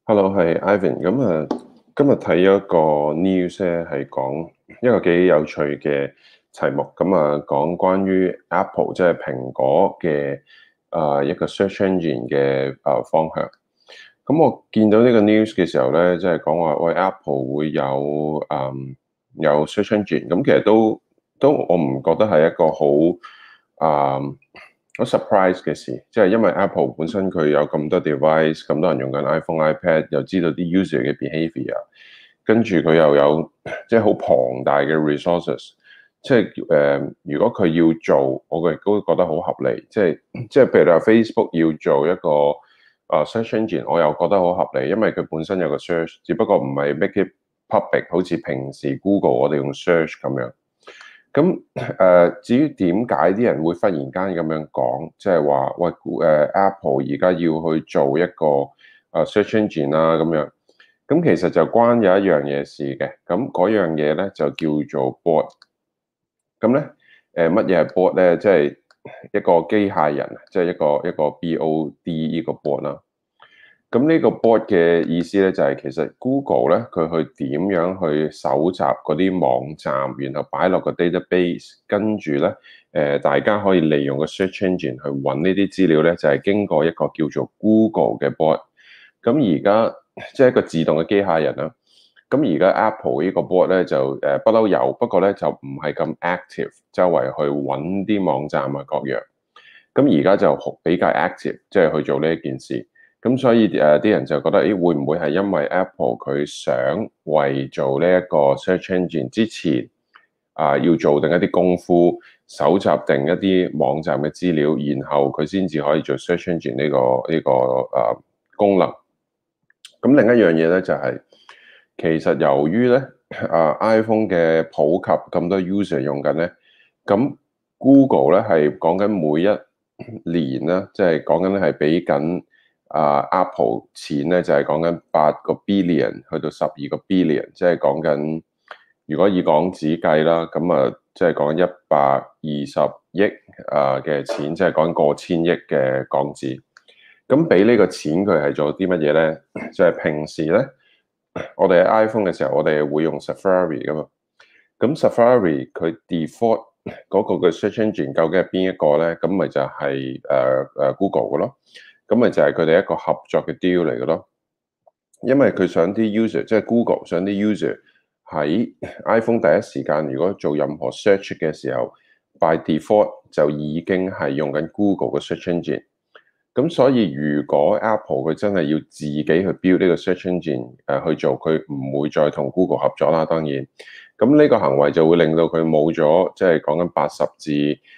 Hello，係 Ivan。今日睇咗一個 news 咧，係講一個幾有趣嘅題目。講關於 Apple 即係蘋果嘅一個 search engine 嘅方向。我見到呢個 news 嘅時候咧，即係講話喂 Apple 會有 search engine。其實都我唔覺得係一個好 surprise 嘅事，即係因為 Apple 本身佢有咁多 device，咁多人用緊 iPhone、iPad，又知道啲 user 嘅 behavior，跟住佢又有即係好龐大嘅 resources，即係如果佢要做，我亦都覺得好合理。即係譬如你話 Facebook 要做一個search engine，我又覺得好合理，因為佢本身有個 search，只不過唔係 make it public，好似平時 Google 我哋用 search 咁樣。至於點解啲人會忽然間咁樣講，即係話喂Apple 而家要去做一個search engine 啦咁樣，其實就關有一樣嘢事嘅，嗰樣嘢咧就叫做 bot。乜嘢係 bot 咧？即係一個機械人，即係一個 BOD 呢個 bot 啦。呢個 bot 嘅意思咧，就係其實 Google 咧，佢去點樣去搜集嗰啲網站，然後擺落個 database，跟住咧，大家可以利用個 search engine 去揾呢啲資料咧，就係經過一個叫做 Google 嘅 bot。而家即係一個自動嘅機械人啦。而家 Apple 呢個 bot 咧就不嬲有，不過咧就唔係咁 active，周圍去揾啲網站啊各樣。而家就比較 active，即係去做呢一件事。所以啲人就覺得，會唔會係因為 Apple 佢想為做呢一個 search engine 之前要做定一啲功夫，搜集定一啲網站嘅資料，然後佢先至可以做 search engine 呢個功能。另一樣嘢咧就係，其實由於咧iPhone 嘅普及咁多 user 用緊咧，Google 咧係講緊每一年啦，即係講緊咧係俾緊Apple 錢咧，就係講緊8 billion 去到12 billion，即係講緊如果以港紙計啦，即係講緊120億嘅錢，即係講緊過千億嘅港紙。俾呢個錢佢係做啲乜嘢咧？就係平時咧，我哋喺 iPhone 嘅時候，我哋會用 Safari 噶嘛。Safari 佢 default 嗰個嘅 search engine 究竟係邊一個咧？咪就係Google 嘅咯。咪就係佢哋一個合作嘅 deal 嚟嘅咯。因為佢想啲 user，即係 Google 想啲 user 喺 iPhone 第一時間，如果做任何 search 嘅時候，by default 就已經係用緊 Google 嘅 search engine。所以如果 Apple 佢真係要自己去 build 呢個 search engine 去做，佢唔會再同 Google 合作啦。當然，呢個行為就會令到佢冇咗，即係講緊80至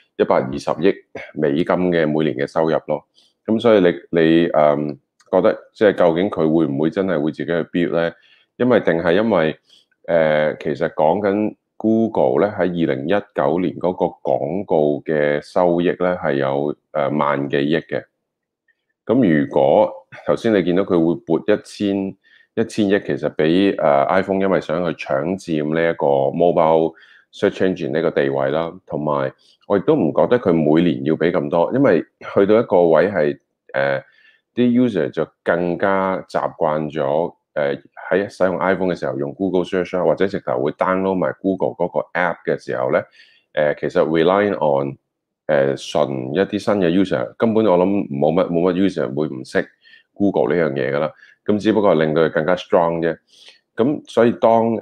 120億美金嘅每年嘅收入咯。所以你覺得即係究竟佢會唔會真係會自己去 build 咧？因為其實講緊 Google 咧喺2019年嗰個廣告嘅收益咧係有萬幾億嘅。如果頭先你見到佢會撥一千億，其實俾iPhone，因為想去搶佔呢一個 mobile search engine 呢個地位啦，同埋我亦都唔覺得佢每年要俾咁多，因為去到一個位係啲 user 就更加習慣咗喺使用 iPhone 嘅時候用 Google Search 或者直頭會 download 埋 Google 嗰個 app 嘅時候咧，其實 relying on 純一啲新嘅 user， 根本我諗冇乜 user 會唔識 Google 呢樣嘢噶啦，只不過令到佢更加 strong 啫。所以當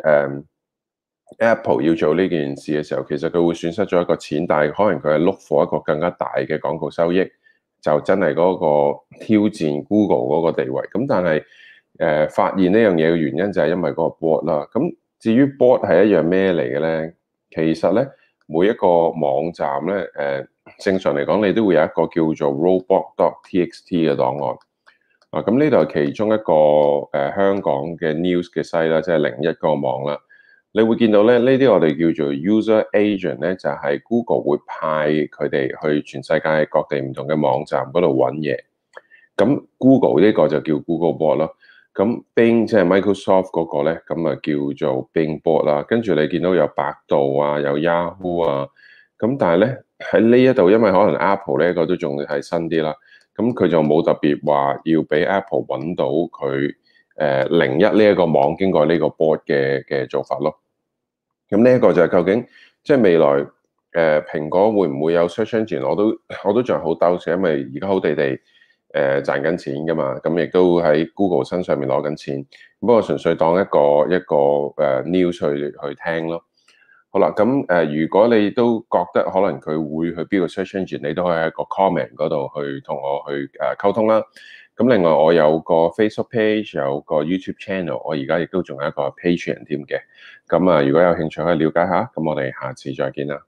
Apple 要做呢件事嘅時候，其實佢會損失咗一個錢，但係可能佢係 look for 一個更加大嘅廣告收益，就真係嗰個挑戰 Google 嗰個地位。但係發現呢樣嘢嘅原因就係因為嗰個 bot 啦。至於 bot 係一樣咩嚟嘅咧？其實咧每一個網站咧正常嚟講，你都會有一個叫做 robot.txt 嘅檔案。呢度係其中一個香港嘅 news 嘅 site 啦，即係01個網啦。你會見到咧，呢啲我哋叫做 user agent 咧，就係 Google 會派佢哋去全世界各地唔同嘅網站嗰度揾嘢。Google 呢個就叫 Google Bot 咯。Bing 即係 Microsoft 嗰個咧，叫做 Bing Bot 啦。跟住你見到有百度啊，有 Yahoo 啊。但係咧喺呢一度，因為可能 Apple 呢個都仲係新啲啦，佢就冇特別話要俾 Apple 揾到佢 01呢一個網經過呢個 board 嘅做法咯。咁呢一個就係究竟即係未來蘋果會唔會有 search engine？我都仲係好兜嘅，因為而家好地地賺緊錢㗎嘛，咁亦都喺 Google 身上面攞緊錢。不過純粹當一個news 去聽咯。好啦，咁如果你都覺得可能佢會去邊個 search engine，你都可以喺個 comment 嗰度去同我去溝通啦。咁另外我有個 Facebook page，有個 YouTube channel，我而家亦都仲有一個 Patreon 添嘅。咁如果有興趣可以了解下，咁我哋下次再見啦。